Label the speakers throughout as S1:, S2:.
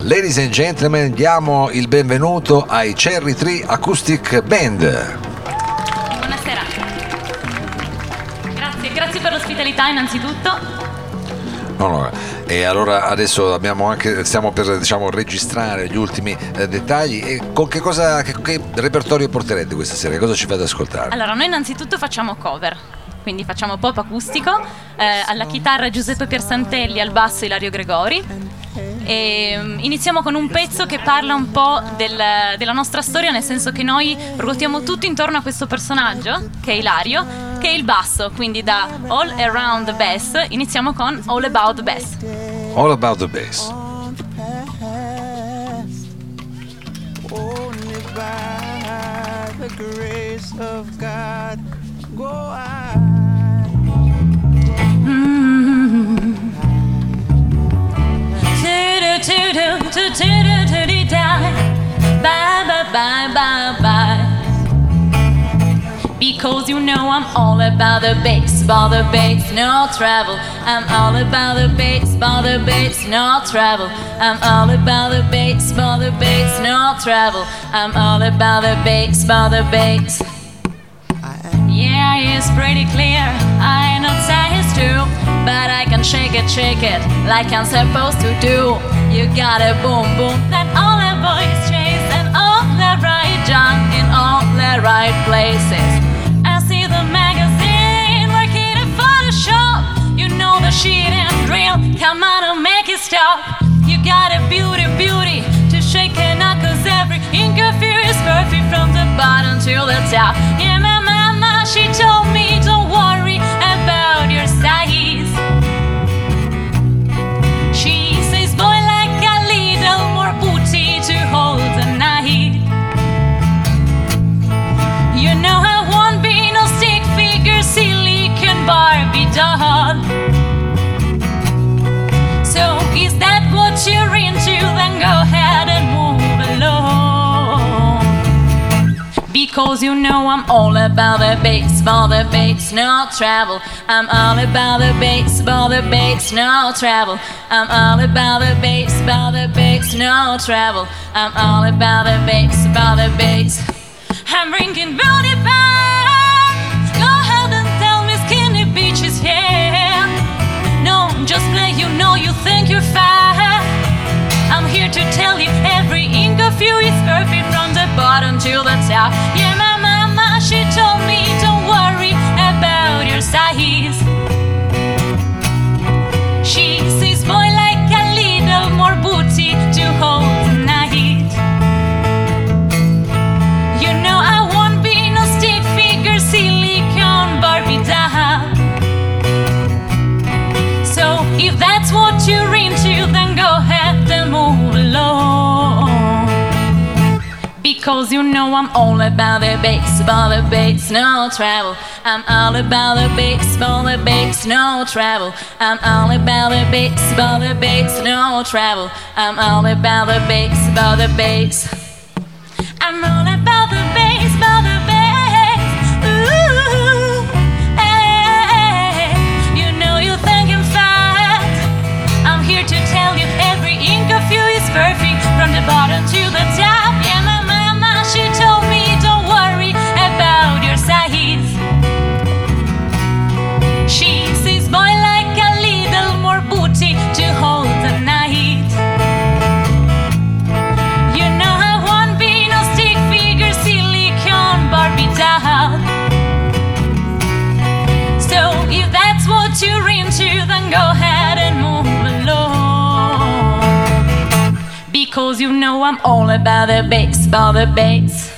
S1: Ladies and gentlemen, diamo il benvenuto ai Cherry Tree Acoustic Band.
S2: Buonasera. Grazie per l'ospitalità innanzitutto.
S1: No. E allora adesso stiamo per registrare gli ultimi dettagli. E con che repertorio porterete questa sera? Cosa ci fate ascoltare?
S2: Allora, noi innanzitutto facciamo cover, quindi facciamo pop acustico, alla chitarra Giuseppe Piersantelli, al basso Ilario Gregori. E iniziamo con un pezzo che parla un po' della nostra storia, nel senso che noi ruotiamo tutto intorno a questo personaggio, che è Ilario, che è il basso, quindi da All Around the Bass iniziamo con All About the Bass.
S1: All About the Bass.
S3: Only by the grace of God go I.
S2: Bye. Because you know I'm all about the bass, no travel. I'm all about the bass, no travel. I'm all about the bass, no travel. I'm all about the bass. Yeah, it's pretty clear. I know size too, but I can shake it like I'm supposed to do. You got a boom, that all the boys chase, and all the right junk in all the right places. I see the magazine working in Photoshop. You know the shit ain't real. Come on and make it stop. You got a beauty to shake your knuckles. Every interview is perfect from the bottom to the top. Yeah, my mama, she told me don't worry about your size. She says, boy, like a little more booty to hold the night. You know I won't be no stick figure, silicon Barbie doll. So is that what you're into? Then go ahead and move along. Because you know I'm all about the bass, no travel. I'm all about the bass, no travel. I'm all about the bass, no travel. I'm all about the bass. I'm bringing beauty back. Go ahead and tell me skinny bitches, yeah. No, just play, you know you think you're fat. I'm here to tell you every inch of you is perfect from the bottom to the top. Yeah, my mama, she told me don't worry about your size. She says, boy, like a little more booty to hold tonight. You know I won't be no stick figure, silicon Barbie doll. So if that's what you're into, then go ahead and move along. Because you know I'm all about the bass, no travel. I'm all about the bass, no travel. I'm all about the bass, no travel. I'm all about the bass. I'm all about the bass, ooh, hey, you know you think I'm fat. I'm here to tell you every inch of you is perfect from the bottom to the top. Yeah, my mama, she told me don't worry about your size. She says, boy, like a little more booty to hold the night. You know I won't be no stick figure, silicon Barbie doll. So if that's what you're into, then go ahead and move along. Because you know I'm all about the bass.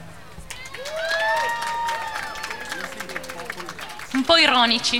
S2: Un po' ironici.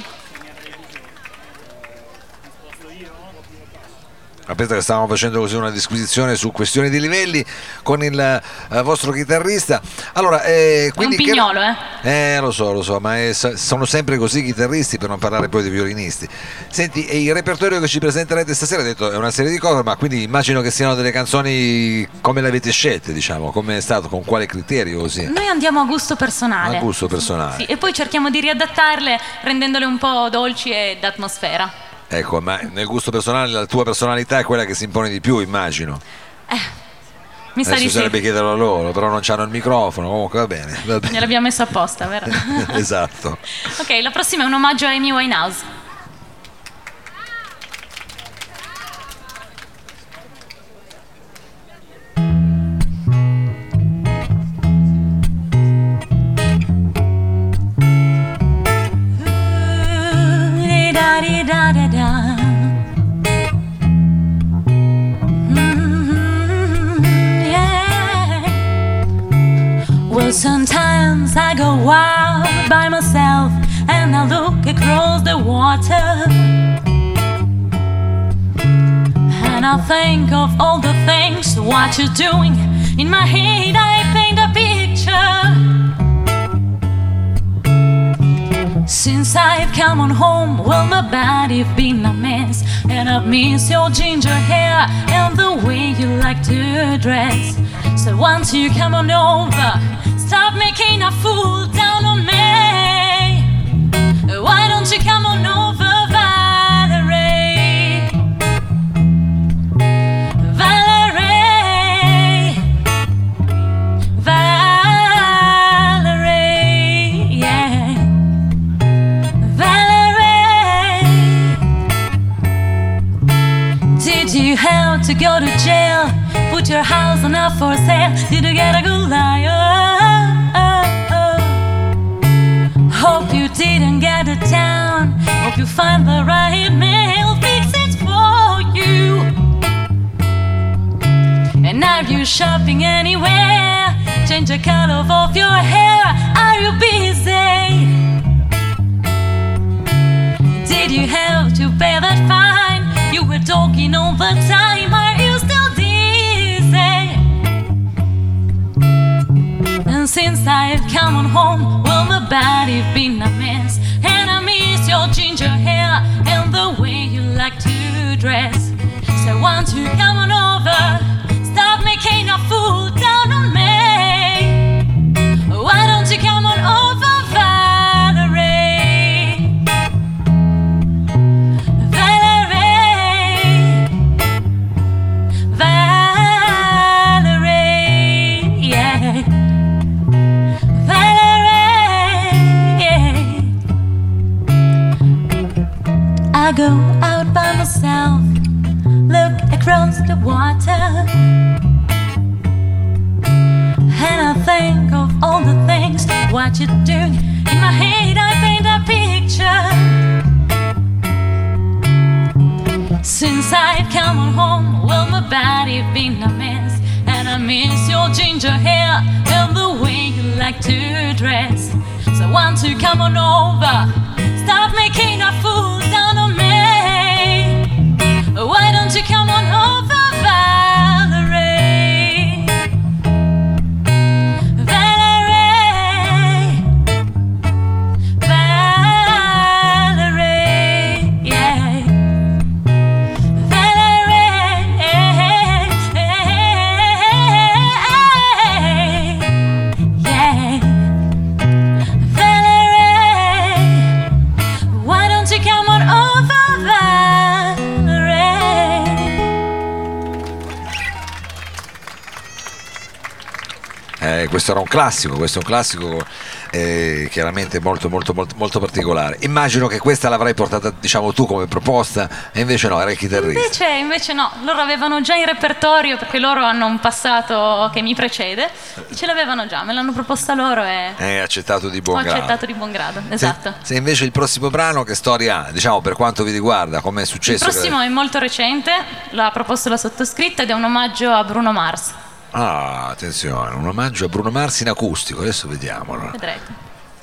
S1: Aspetta che stavamo facendo così una disquisizione su questioni di livelli con il vostro chitarrista. Allora, quindi
S2: è un pignolo,
S1: lo so, ma sono sempre così i chitarristi, per non parlare poi dei violinisti. Senti, e il repertorio che ci presenterete stasera, hai detto, è una serie di cover, ma quindi immagino che siano delle canzoni come le avete scelte, diciamo, come è stato, con quale criterio così?
S2: Noi andiamo a gusto personale.
S1: A gusto personale.
S2: Sì, e poi cerchiamo di riadattarle rendendole un po' dolci e d'atmosfera.
S1: Ecco, ma nel gusto personale la tua personalità è quella che si impone di più, immagino.
S2: Mi sa di
S1: Adesso
S2: sì.
S1: sarebbe chiederlo a loro, però non c'hanno il microfono, comunque va bene.
S2: Gliel'abbiamo messo apposta, vero?
S1: Esatto.
S2: Ok, la prossima è un omaggio a Amy Winehouse. Well, sometimes I go wild by myself and I look across the water and I think of all the things what you're doing. In my head I paint a picture. Since I've come on home, well, my body's been a mess, and I've missed your ginger hair and the way you like to dress. So once you come on over, stop making a fool down on me. Why don't you come on over, Valerie? Valerie, Valerie, yeah. Valerie, did you have to go to jail? Put your house on up for sale? Did you get a good liar? Hope you didn't get it down. Hope you find the right man, fix it for you. And are you shopping anywhere? Change the color of your hair. Are you busy? Did you have to pay that fine? You were talking all the time. Are you still dizzy? And since I've come on home, well, my body's been a mess, and I miss your ginger hair and the way you like to dress. So once you come on over, stop making a fool down on me. Why don't you come on over, Valerie? Valerie, Valerie, yeah. I go out by myself, look across the water, and I think of all the things what you're doing. In my head I paint a picture. Since I've come on home, well, my body's been a mess, and I miss your ginger hair and the way you like to dress. So once you come on over, stop making a fool down on me. Why don't you come on over, Valerie? Valerie, Valerie, yeah. Valerie, yeah. Valerie, why don't you come on over, Valerie?
S1: Questo era un classico, questo è un classico chiaramente molto, molto, molto, molto particolare. Immagino che questa l'avrai portata, diciamo, tu come proposta, e invece no, era il chitarrista.
S2: Invece no, loro avevano già in repertorio, perché loro hanno un passato che mi precede, ce l'avevano già, me l'hanno proposta loro e
S1: Hai accettato di buon
S2: ho
S1: grado.
S2: accettato di buon grado, esatto.
S1: Se invece il prossimo brano, che storia ha, diciamo, per quanto vi riguarda, come è
S2: Il
S1: successo?
S2: prossimo è molto recente, l'ha proposto la sottoscritta ed è un omaggio a Bruno Mars.
S1: Ah, attenzione, un omaggio a Bruno Mars in acustico, adesso vediamo. Allora.
S2: Vedrete.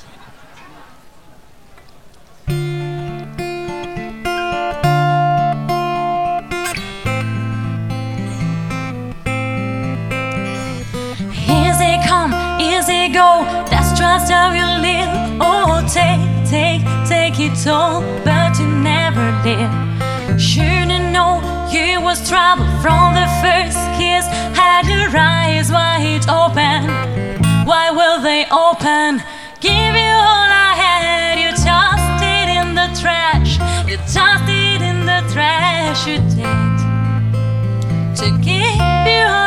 S2: Easy come, easy go, that's just how you live. Oh, take it all, but you never live. Shouldn't know you was trouble from the first kiss. Had your eyes wide open. Why will they open? Give you all I had. You tossed it in the trash. You tossed it in the trash. You did to give you all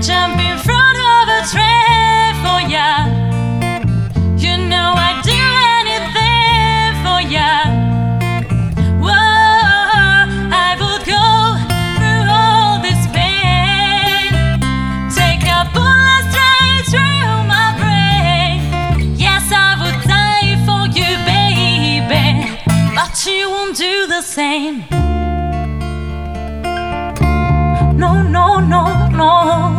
S2: jump in front of a train for ya. You know I'd do anything for ya. Whoa, I would go through all this pain. Take a bullet straight through my brain. Yes, I would die for you, baby, but you won't do the same. No, no, no, no.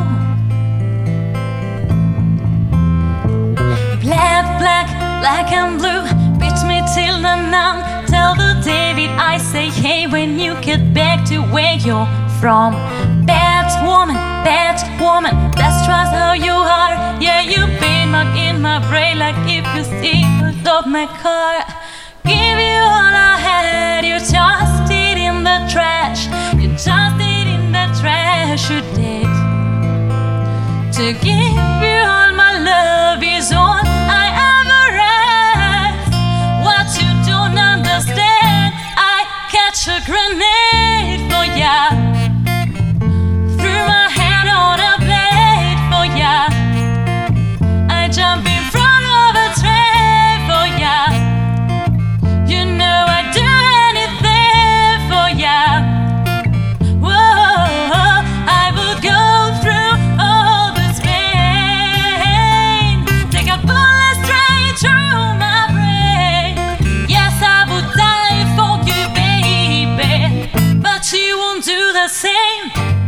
S2: Black and blue, beat me till the numb. Tell the David I say hey when you get back to where you're from. Bad woman, that's just how you are. Yeah, you been marked in my brain like if you see of my car. Give you all I had, you tossed it in the trash. You tossed it in the trash, you did. To give you all my love is all I ever ask. What you don't understand, I catch a grenade for ya. Threw my hand on a blade for ya. I jump in front of a train for ya. You know I'd do anything for ya. Whoa, I would go through all this pain. Take a bullet straight through my brain. Yes, I would die for you, baby, but you won't do the same.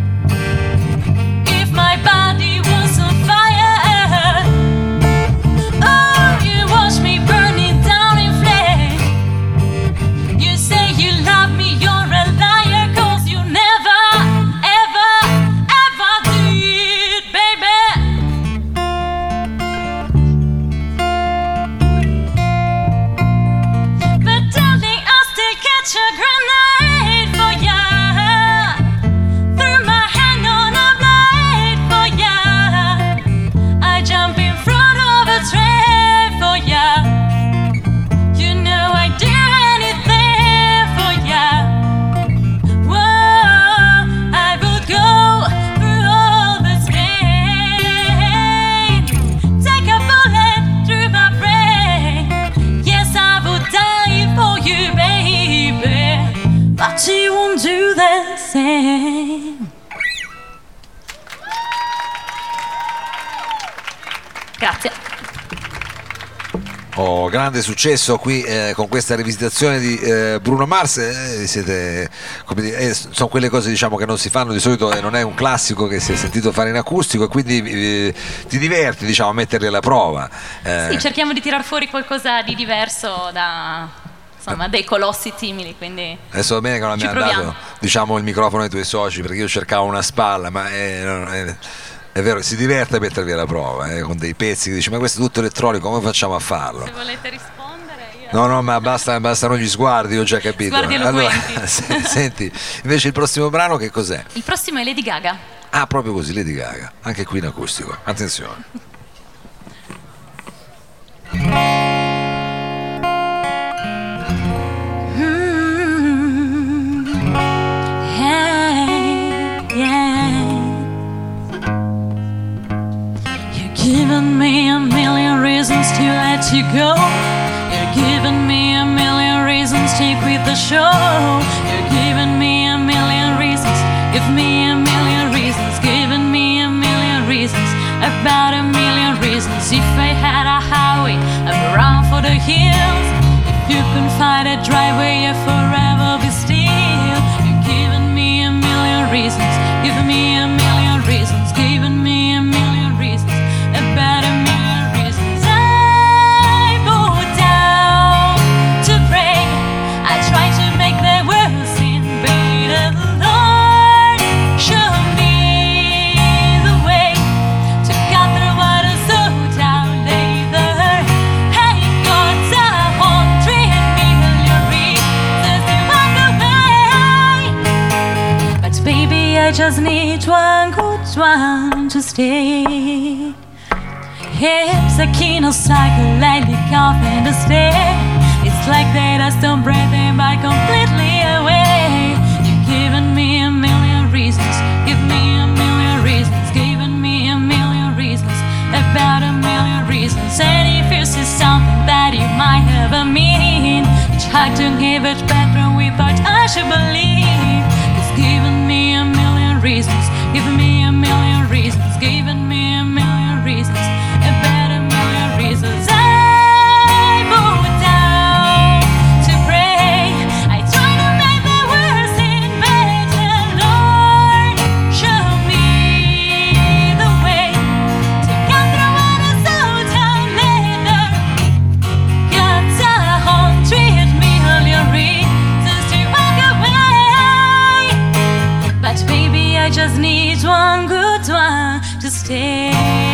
S2: If my body was on fire, oh, you watch me burning down in flame. You say you love me, you're a liar, 'cause you never, ever, ever did, baby. But darling, I'll still catch a grenade for ya. Threw my hand on a blade for ya. I jump in front of a train for ya. You know I'd do anything for ya. Whoa, I would go through all this pain. Take a bullet through my brain. Yes, I would die for you, baby, but you won't do the same. Grazie.
S1: Oh, grande successo qui con questa rivisitazione di Bruno Mars. Siete, come sono quelle cose, diciamo, che non si fanno di solito e non è un classico che si è sentito fare in acustico, e quindi ti diverti, diciamo, a metterli alla prova.
S2: Sì, cerchiamo di tirar fuori qualcosa di diverso da, insomma, dei colossi simili, quindi
S1: Adesso va bene che non mi
S2: ci
S1: ha
S2: proviamo.
S1: dato, diciamo, il microfono ai tuoi soci, perché io cercavo una spalla, ma è vero, si diverte a mettervi alla prova con dei pezzi che dici ma questo è tutto elettronico, come facciamo a farlo?
S2: Se volete rispondere io...
S1: No, ma bastano gli sguardi, ho già capito.
S2: Sguardi eloquenti.
S1: Allora, senti, invece il prossimo brano che cos'è?
S2: Il prossimo è Lady Gaga.
S1: Ah, proprio così, Lady Gaga, anche qui in acustico, attenzione.
S2: Given me a million reasons to let you go. You're giving me a million reasons to quit the show. You're giving me a million reasons. Give me a million reasons. Giving me a million reasons. About a million reasons. If I had a highway, I'd run for the hills. If you can find a driveway, I'd forever be still. You're giving me a million reasons. Giving me a million reasons. Giving me a million reasons. About a million reasons. I go down to pray. I try to make the world seem better. Lord, show me the way to cut through what is so down later. Hey, God's 100 million reasons to walk away. But baby, I just need one good one to stay. It's a kino cycle, lightly off in the stare. It's like that I stone breathing by completely away. You've given me a million reasons. Give me a million reasons. Given me to believe. It's given me a million reasons, giving me a million reasons, giving me a million reasons, a better million reasons. I go down to pray. I try to make the world seem better. Lord, show me the way to come through when it's so down later. Got 100 million reasons to walk away, but baby, I just need one good one to stay.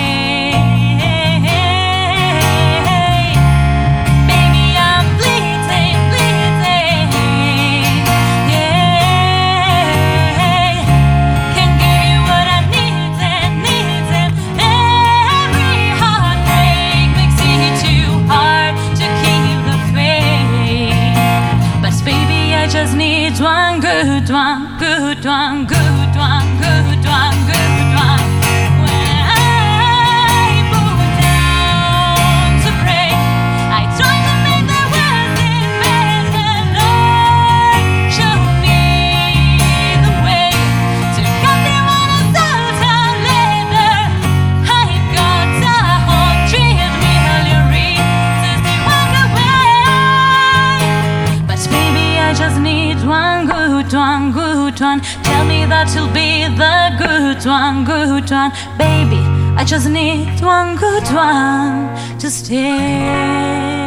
S2: Baby, I'm bleeding, bleeding. Yeah, can give you what I need and need and every heartbreak makes it too hard to keep the faith. But baby, I just need one good one, good one, good one, good one, good one. When I put down to pray, I try to make the world seem better. Lord, show me the way to come there when it's all down later. I got 100 million reasons to walk away, but baby, I just need one good one, good one. Tell me that you'll be the good one, good one. Baby, I just need one good one to stay.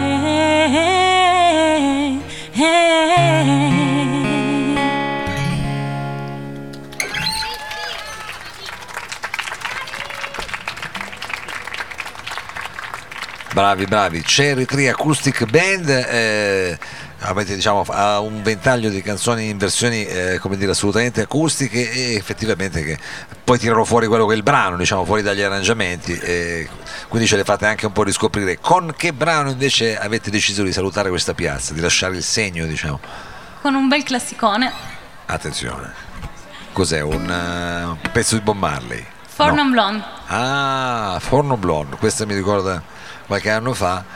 S1: Bravi, bravi. Cherry Tree Acoustic Band, avete, diciamo, ha un ventaglio di canzoni in versioni come dire, assolutamente acustiche, e effettivamente che poi tirano fuori quello che è il brano, diciamo, fuori dagli arrangiamenti, quindi ce le fate anche un po' riscoprire. Con che brano invece avete deciso di salutare questa piazza, di lasciare il segno, diciamo?
S2: Con un bel classicone,
S1: Attenzione, cos'è? Un pezzo di Bob Marley?
S2: For
S1: No.
S2: Non Blonde.
S1: Ah, Forno Blonde, questa mi ricorda qualche anno fa.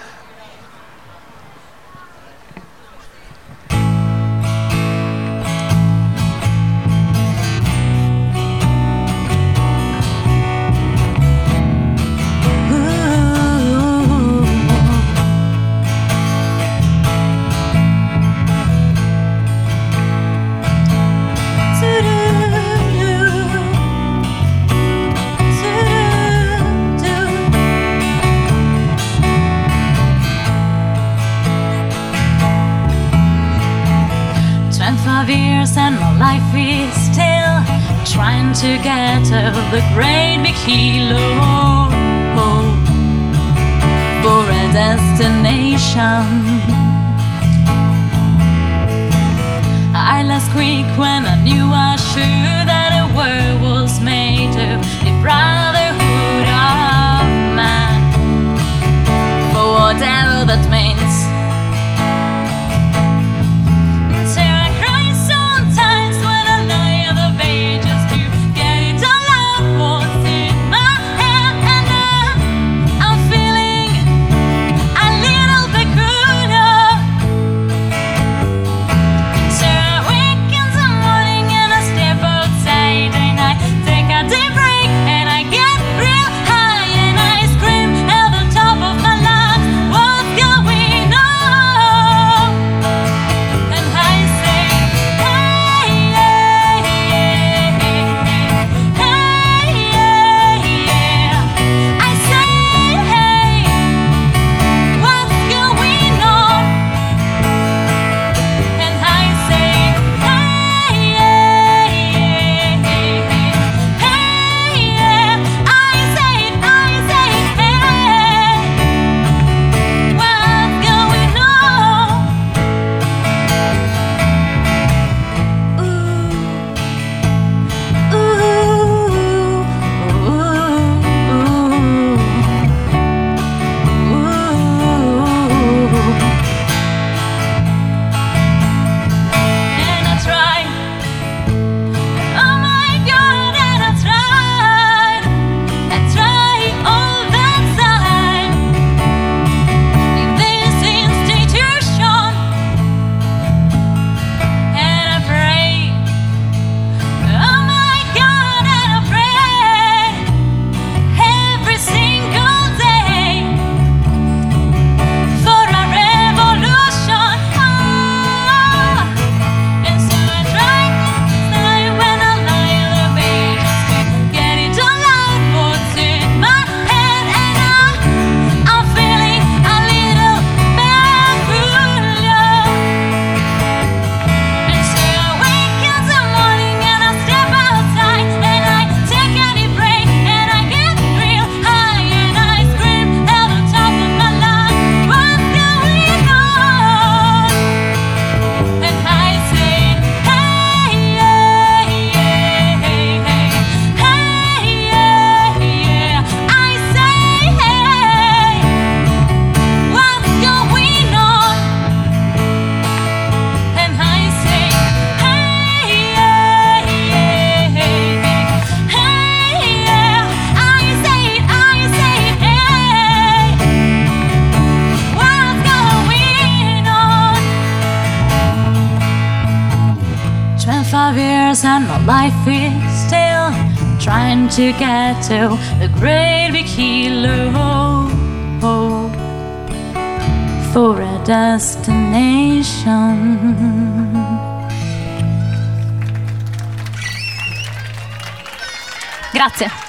S2: Years and my life is still trying to get to the great big hilo for a destination. I lost quick when I knew I should that a world was made of the brotherhood of man, for whatever that means.
S4: Take a
S2: and my life is still trying to get to the great big hilo for a destination. Grazie.